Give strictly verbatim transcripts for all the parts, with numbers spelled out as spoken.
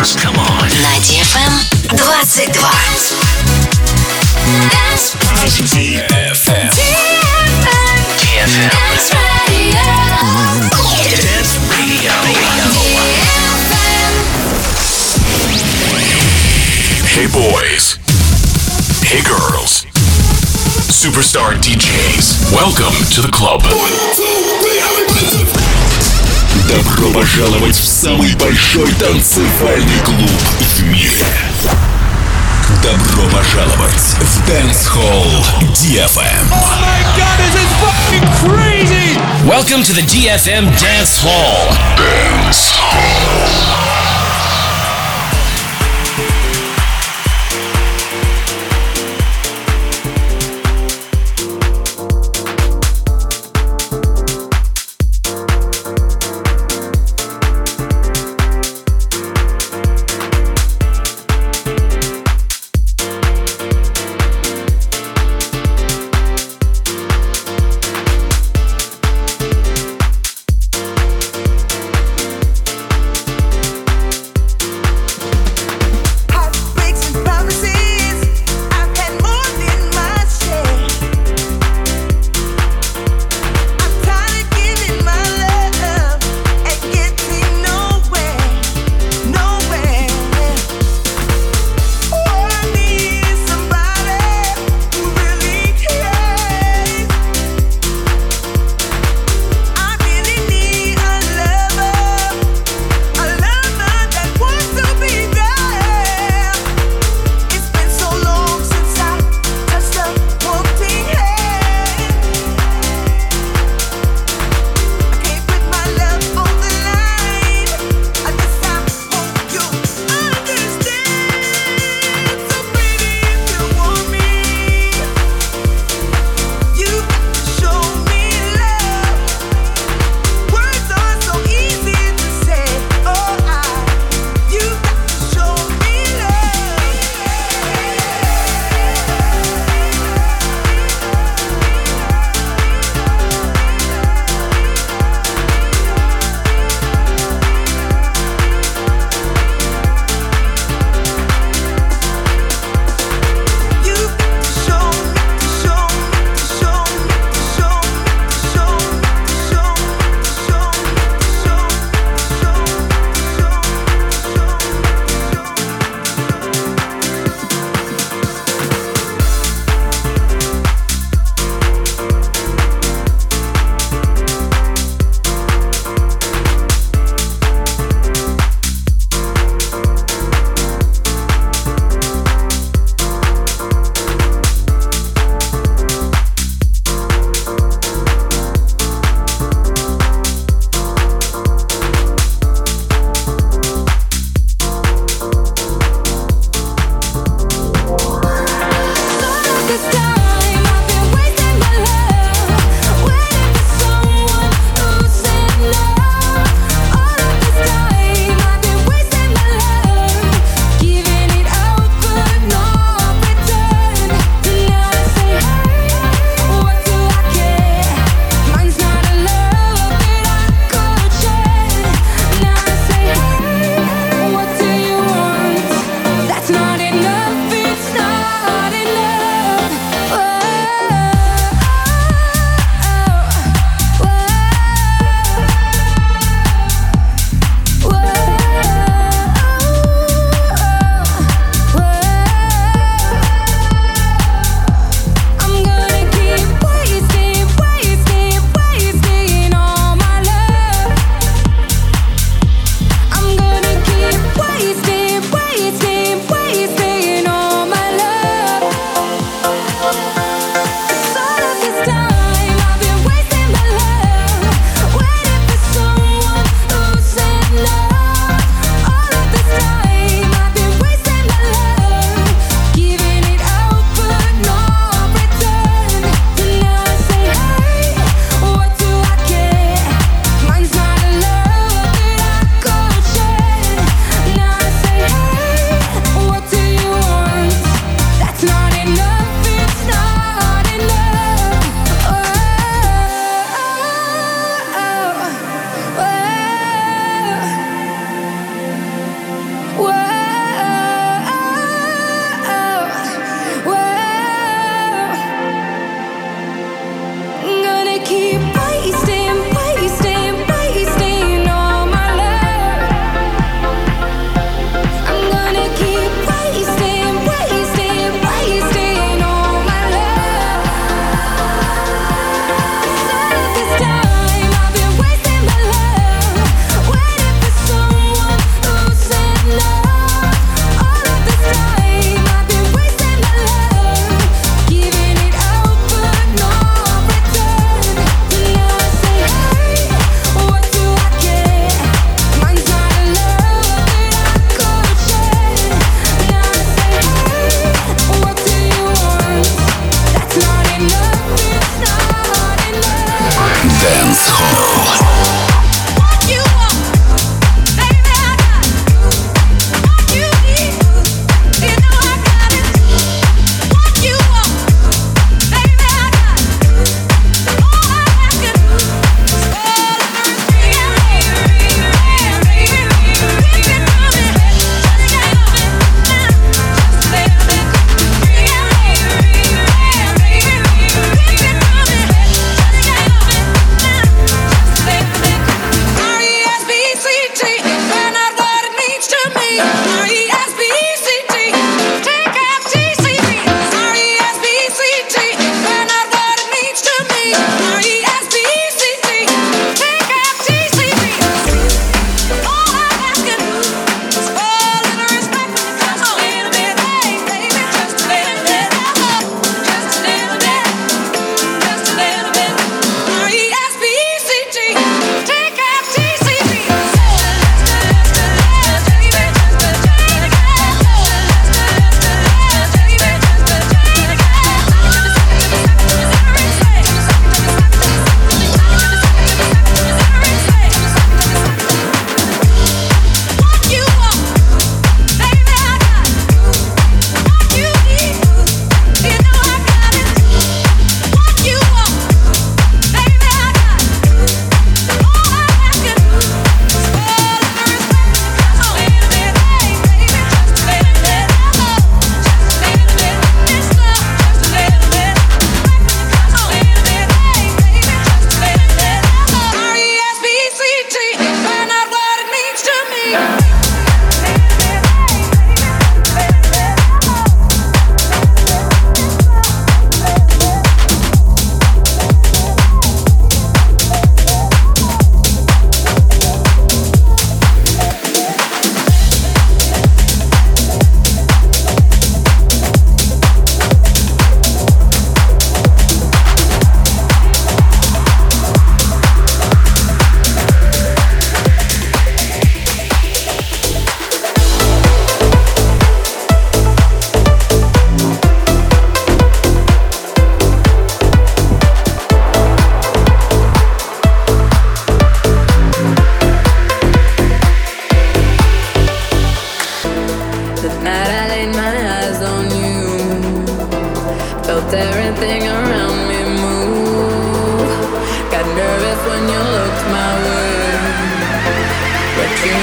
Dance. Come on. На ди эф эм двадцать два. ди эф эм. ди эф эм. Dance Radio. Hey boys. Hey girls. Superstar ди джейс. Welcome to the club. Добро пожаловать в самый большой танцевальный клуб в мире. Добро пожаловать в Dance Hall ди эф эм. Oh my god, this is fucking crazy! Welcome to the ди эф эм Dance Hall. Dance Hall.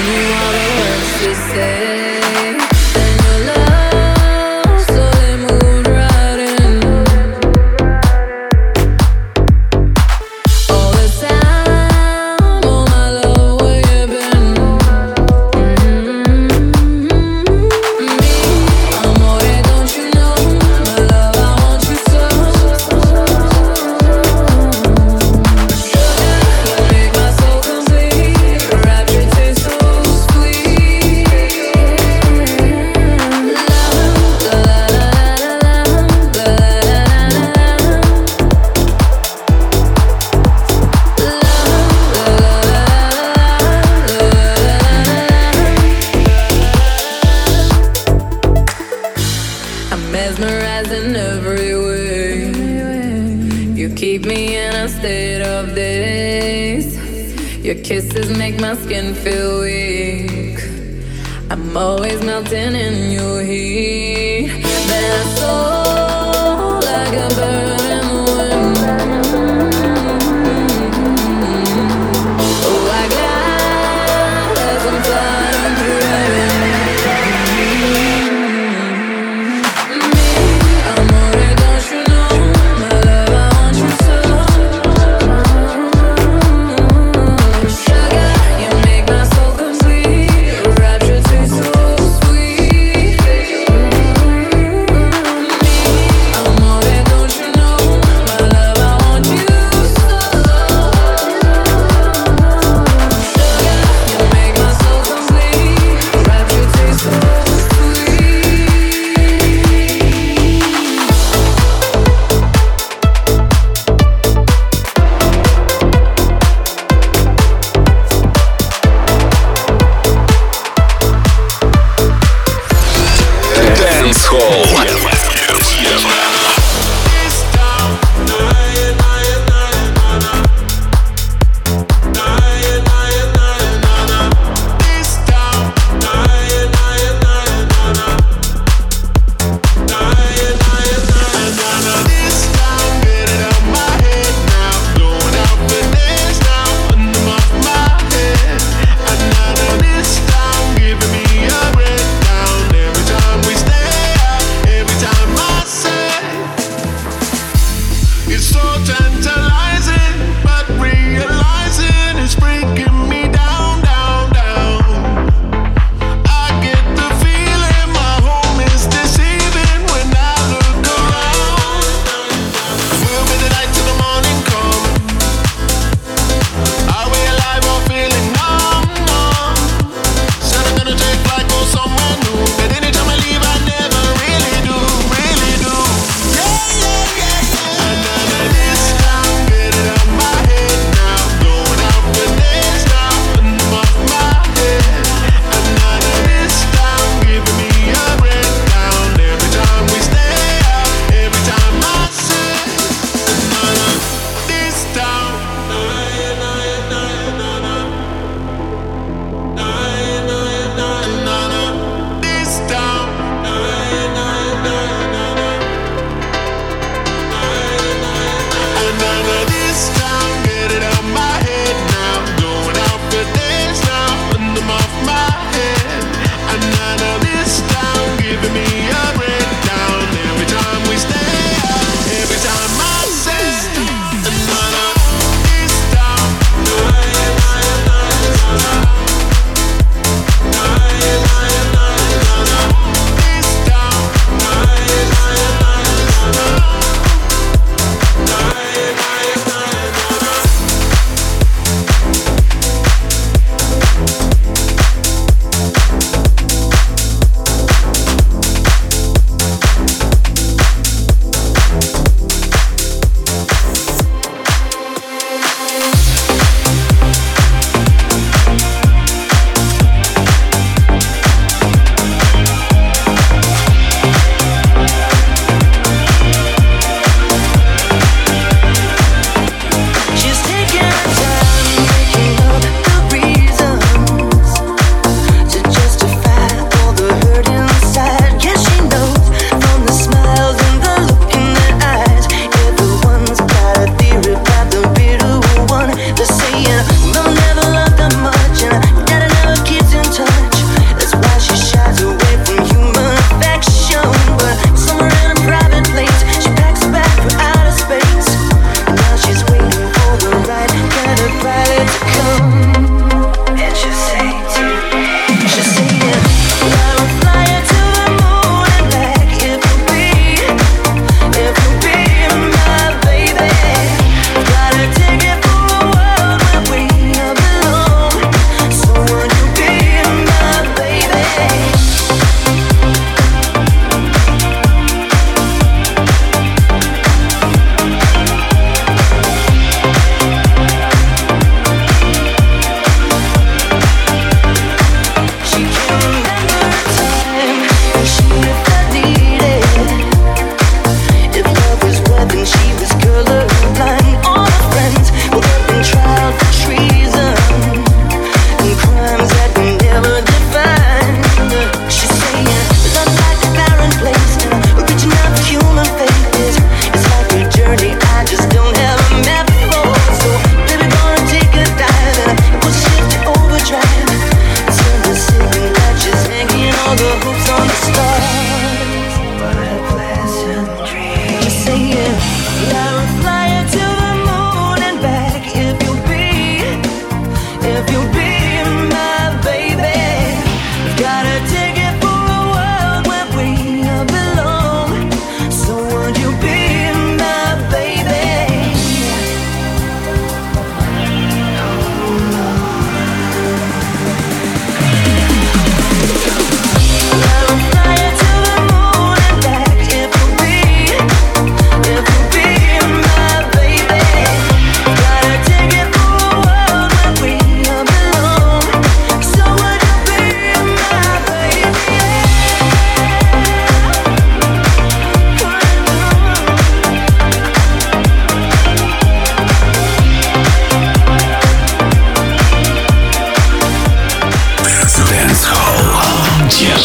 Amore, don't you know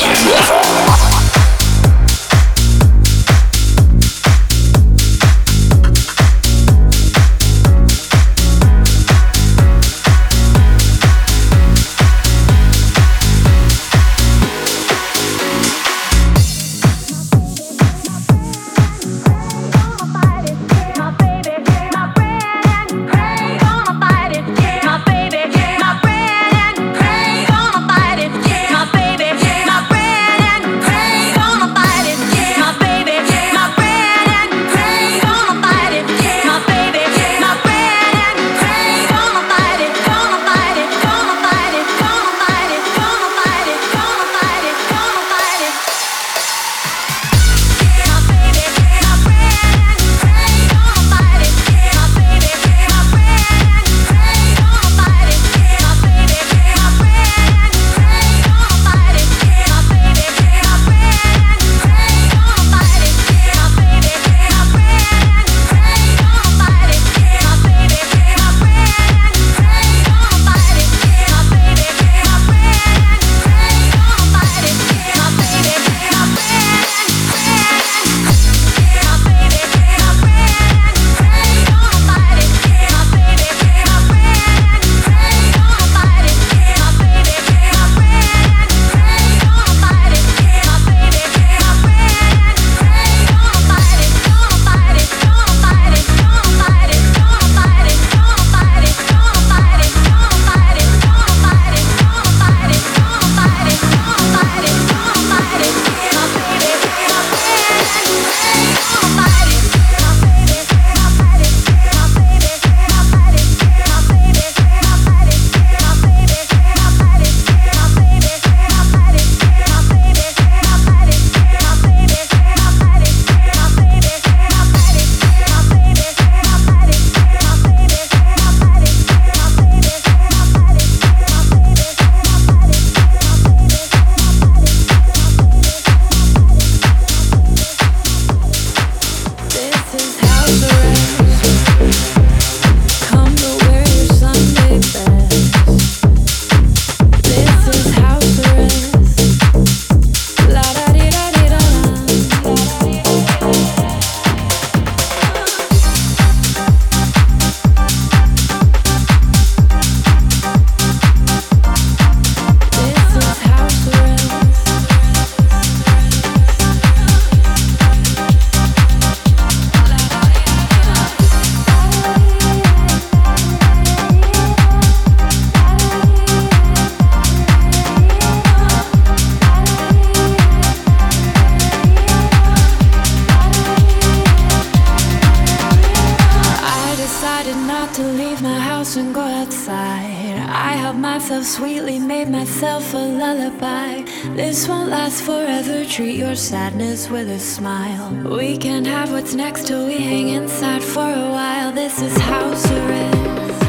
Sweetly made myself a lullaby. This won't last forever. Treat your sadness with a smile. We can have what's next till we hang inside for a while. This is house arrest.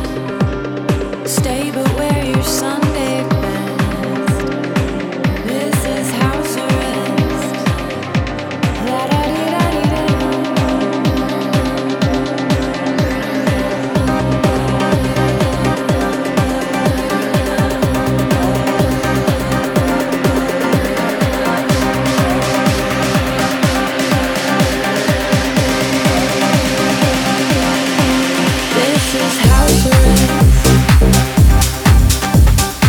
Stay but wear your Sunday best. This is house arrest. La da di da di da. This is house arrest.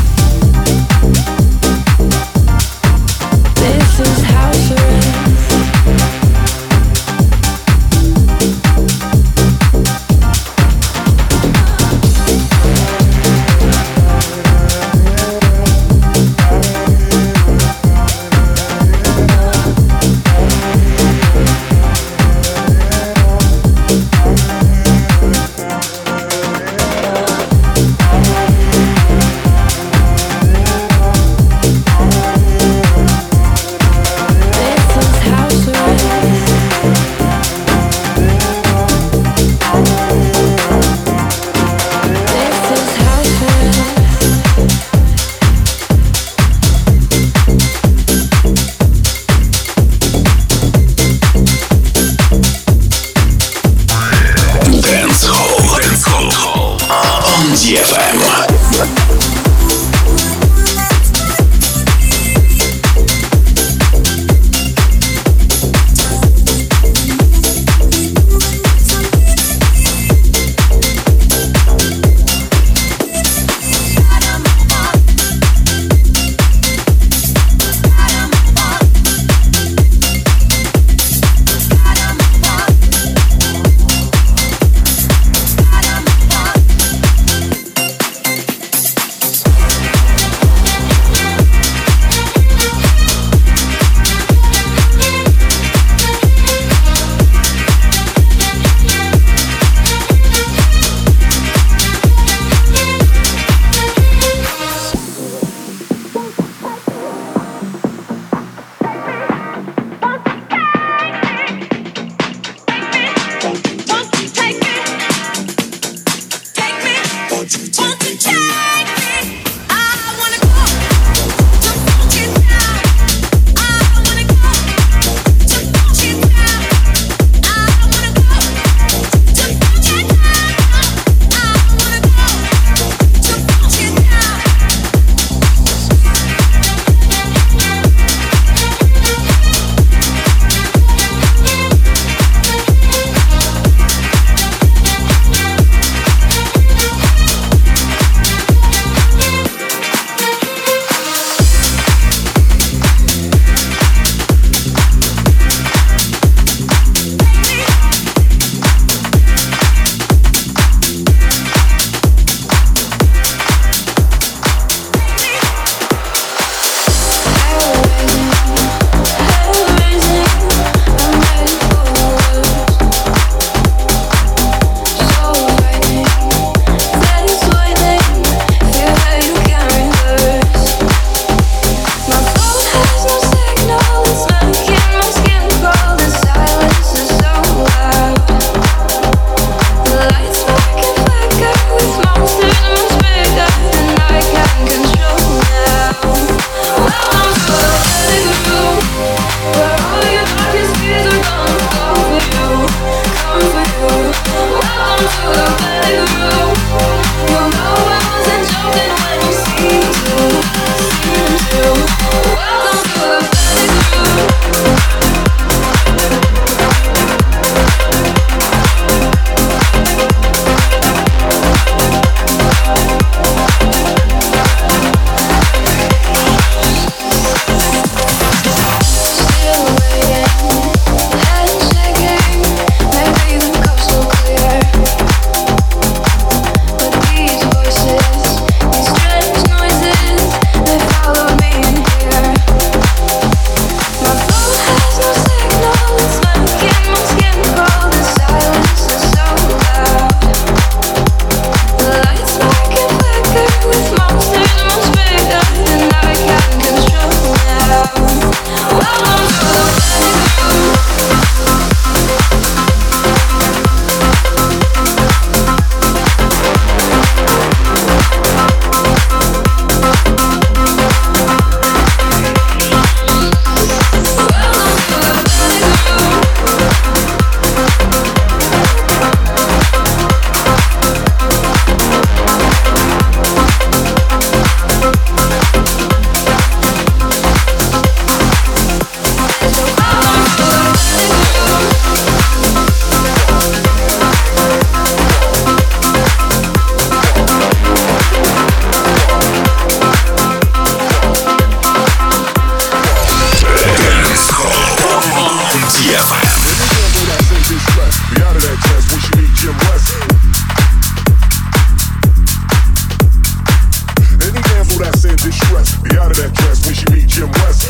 that's in distress. Be out of that dress when she meet Jim West.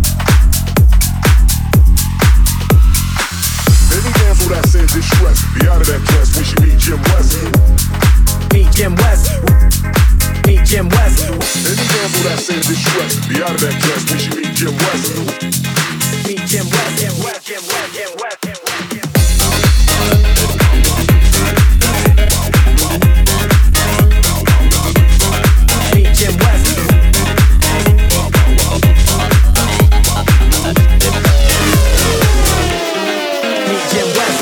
Any damsel that's in distress. Be out of that dress when she meet Jim West. Meet Jim West. Meet Jim West. Any damsel that's in distress. Be out of that dress when she meet Jim West. Meet Jim West. Jim West. Jim West. Jim West. Jim West. Jim West. Jim West. Meet Jim West.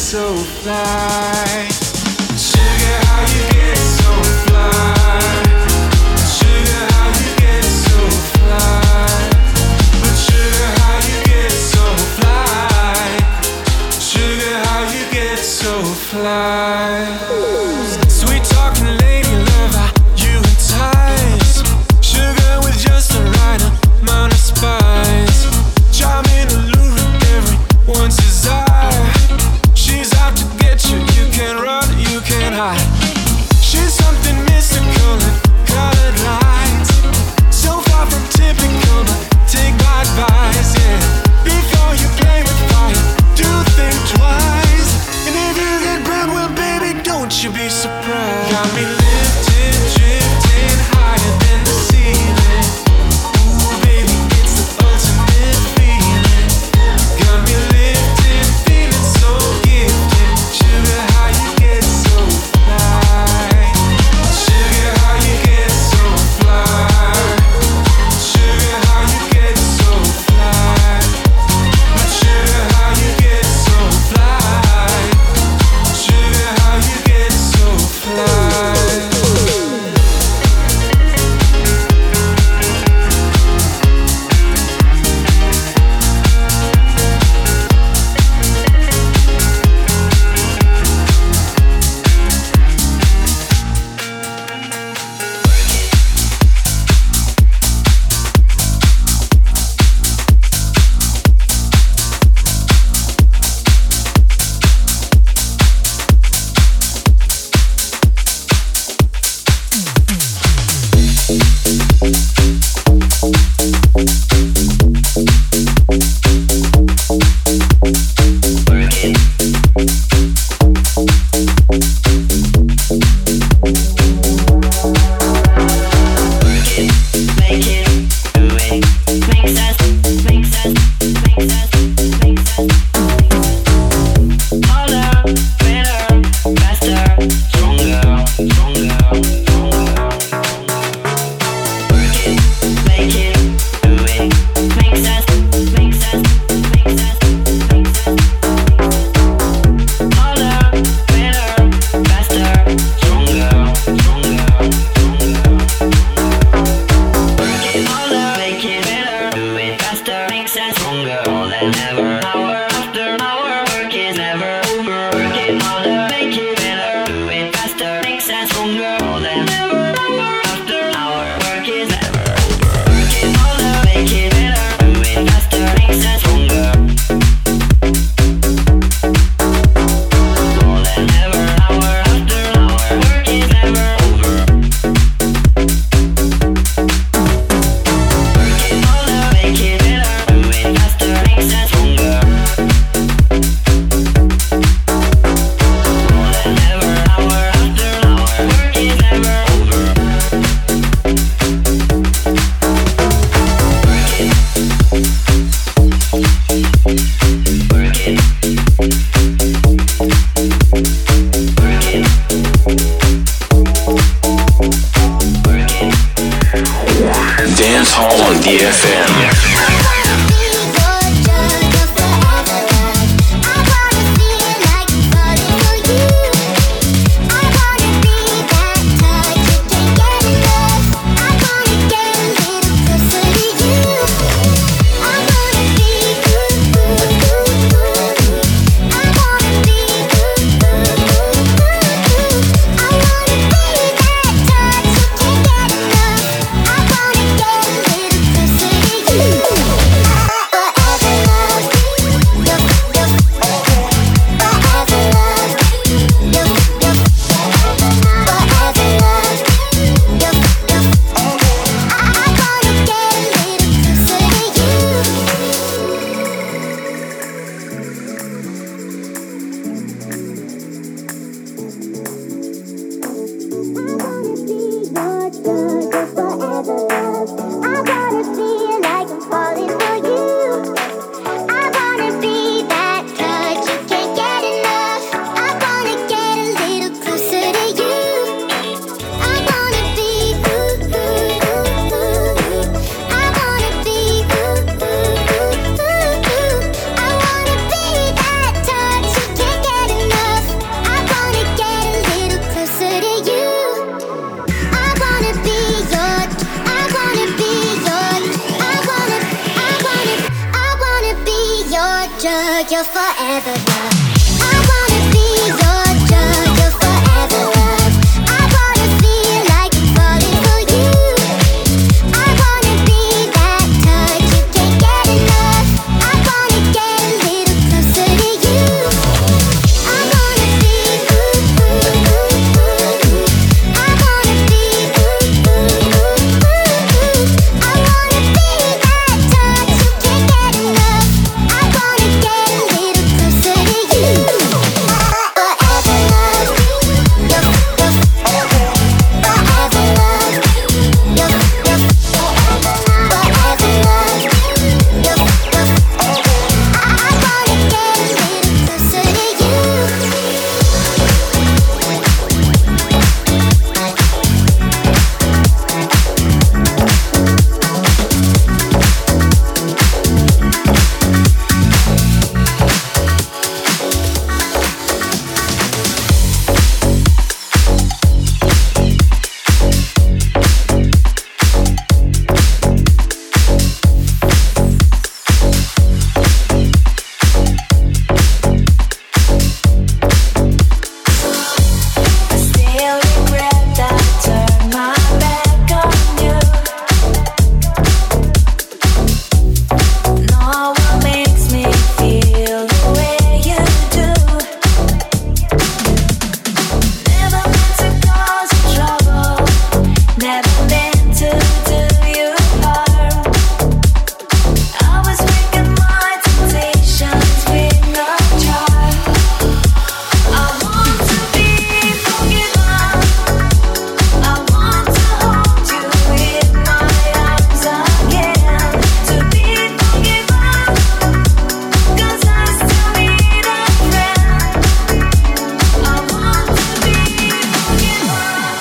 so fly? Sugar, how you get so fly? Sugar, how you get so fly? But sugar, how you get so fly? Sugar, how you get so fly? Sweet talking lady love, how you entice. Sugar with just the right amount of spice. Charming, alluring, everyone's desire. She's out to get you, you can't run, you can't hide. She's something mystical in colored lights. So far from typical, but take my advice, yeah. Before you play with fire, do think twice. And if you get burned, well baby, don't you be surprised. Got me lifted, drifting higher than the ceiling. Ooh baby, it's the ultimate feeling. Got me lifted, feeling so gifted. Sugar, how you get so fly? Sugar, how you get so fly? Sugar, how you get so fly? But sugar, how you get so fly? Sugar, how you get so fly? You drug, your forever love. I wanna be your drug, your forever love. I wanna feel like I'm falling for you. I wanna be that touch you can't get enough. I wanna get a little closer to you. I wanna be ooh, ooh, ooh, ooh. I wanna be ooh, ooh, ooh, ooh. I wanna be that touch you can't get enough. I wanna get a little closer to you. Forever love, your, your, forever love, your, your, forever love, your, your, I wanna get a little closer to you. I still regret that I turned my back on you. No one makes me feel the way you do. Never meant to cause you trouble. Never meant to do you harm. I was making my temptations with no charm. I want to be forgiven. I want to hold you in my arms again. To be forgiven, 'cause I still need a friend. I want to be forgiven.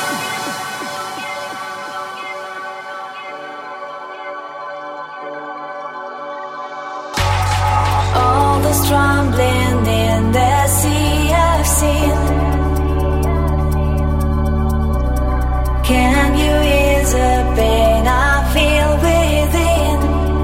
All the strumbling in the sea I've seen. Can you ease the pain I feel within?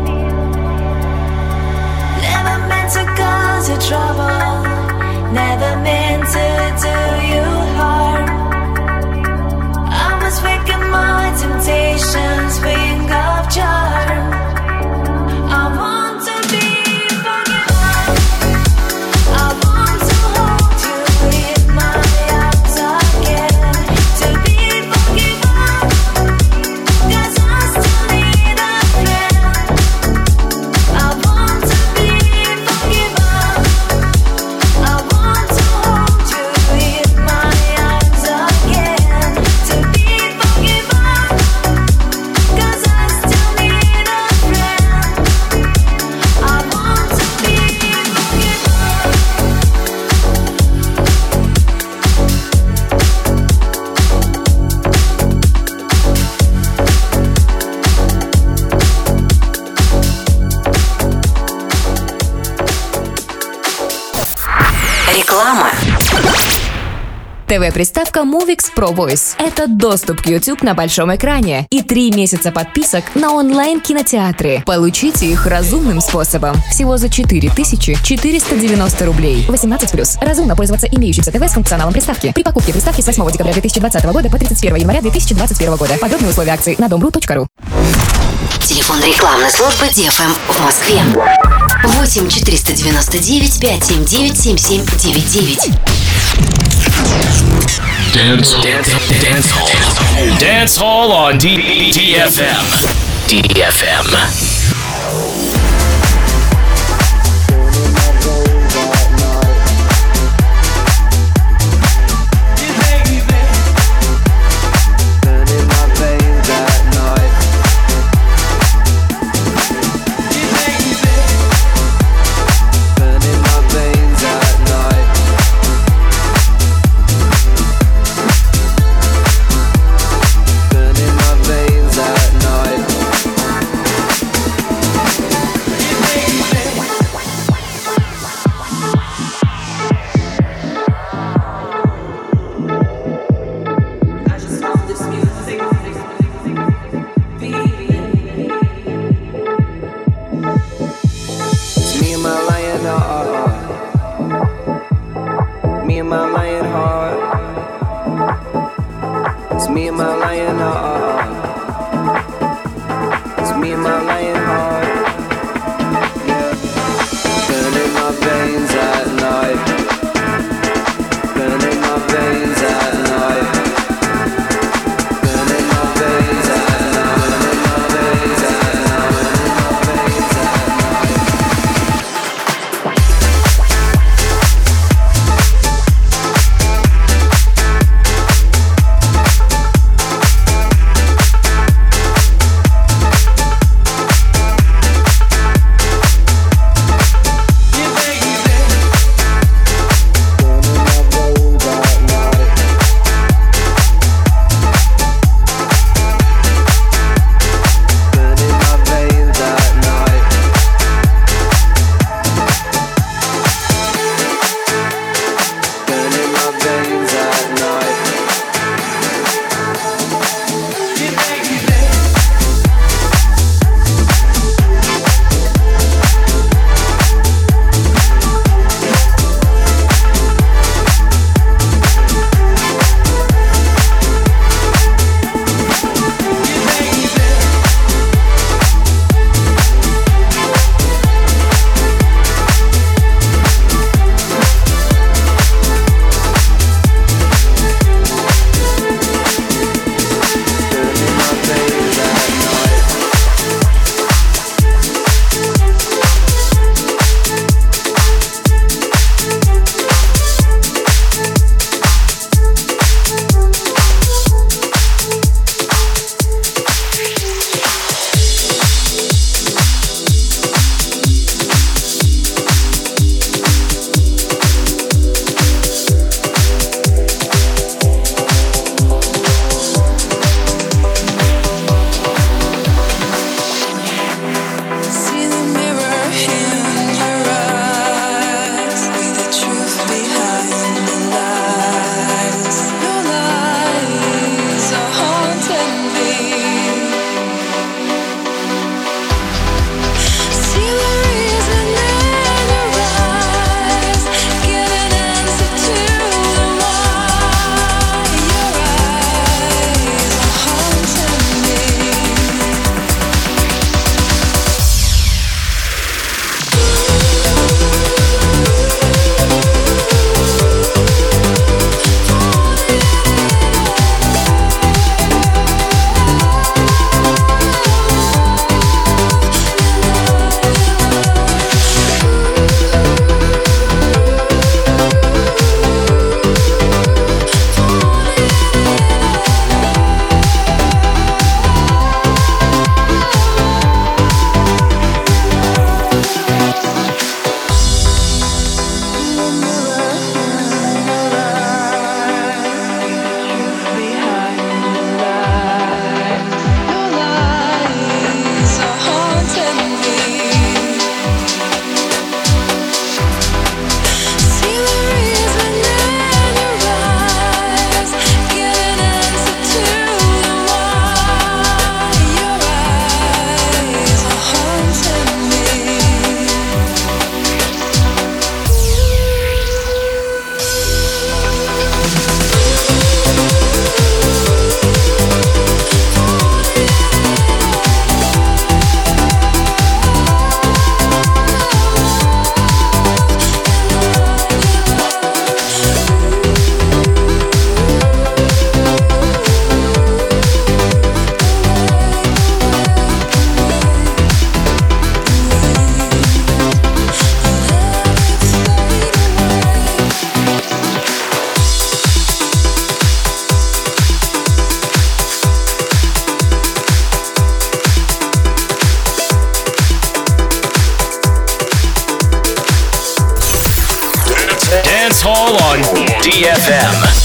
Never meant to cause you trouble. Never meant to do you harm. I was making my temptations ring of charm. I want to be forgiven. I want to hold you in my arms again. To be forgiven, 'cause I still need a friend. I want to be forgiven. I want to hold you in my arms again. To be forgiven, 'cause I still need a friend. I want to be forgiven. Реклама. ТВ-приставка Movix Pro Voice – это доступ к YouTube на большом экране и три месяца подписок на онлайн-кинотеатры. Получите их разумным способом. Всего за четыре тысячи четыреста девяносто рублей. восемнадцать плюс. Разумно пользоваться имеющимся ТВ с функционалом приставки. При покупке приставки с восьмого декабря две тысячи двадцатого года по тридцать первого января две тысячи двадцать первого года. Подробные условия акции на дом точка ру точка ру. Телефон рекламной службы ди эф эм в Москве. восемь четыреста девяносто девять пятьсот семьдесят девять семь семь девять девять. Dance, dance, dance hall. Dance Hall on D- DFM. D F M. Burning my veins at night. me and my lion heart. It's me and my lion heart. Yeah. Burning my veins at night. Burning my veins at night. Burning my veins at night. Burning my veins at night. Burning my veins at night. Hall on D F M.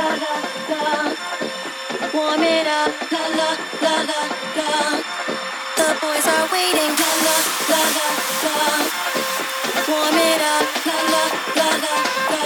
Warm it up, la la la la la. The boys are waiting, la la la la la. Warm it up, la la la la la.